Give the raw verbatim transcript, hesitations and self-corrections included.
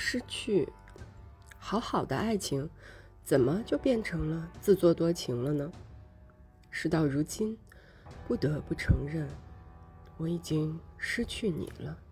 失去。好好的爱情，怎么就变成了自作多情了呢？事到如今，不得不承认，我已经失去你了。